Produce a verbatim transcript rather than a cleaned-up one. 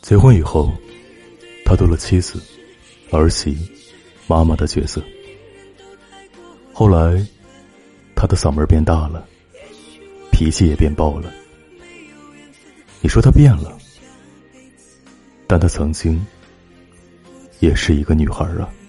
结婚以后，他多了妻子、儿媳、妈妈的角色。后来，他的嗓门变大了，脾气也变爆了。你说他变了，但他曾经也是一个女孩啊。